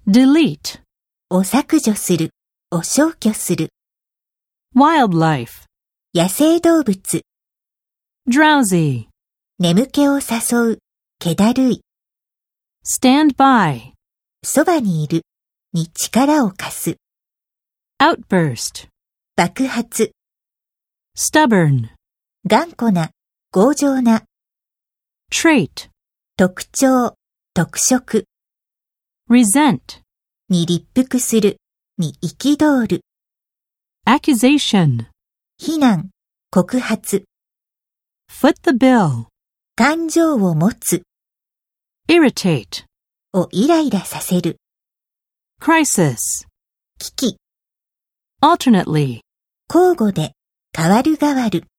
delete, を削除する、を消去する。 wildlife, 野生動物、 drowsy, 眠気を誘う、気だるい。 stand by, そばにいる、に力を貸す。 outburst, 爆発、 stubborn, 頑固な、強情な。 trait, 特徴、特色。 resent, に立腹する、に憤る。 accusation, 非難、告発。 foot the bill, 感情を持つ、 irritate, をイライラさせる。 crisis, 危機、 alternately, 交互で、変わる変わる。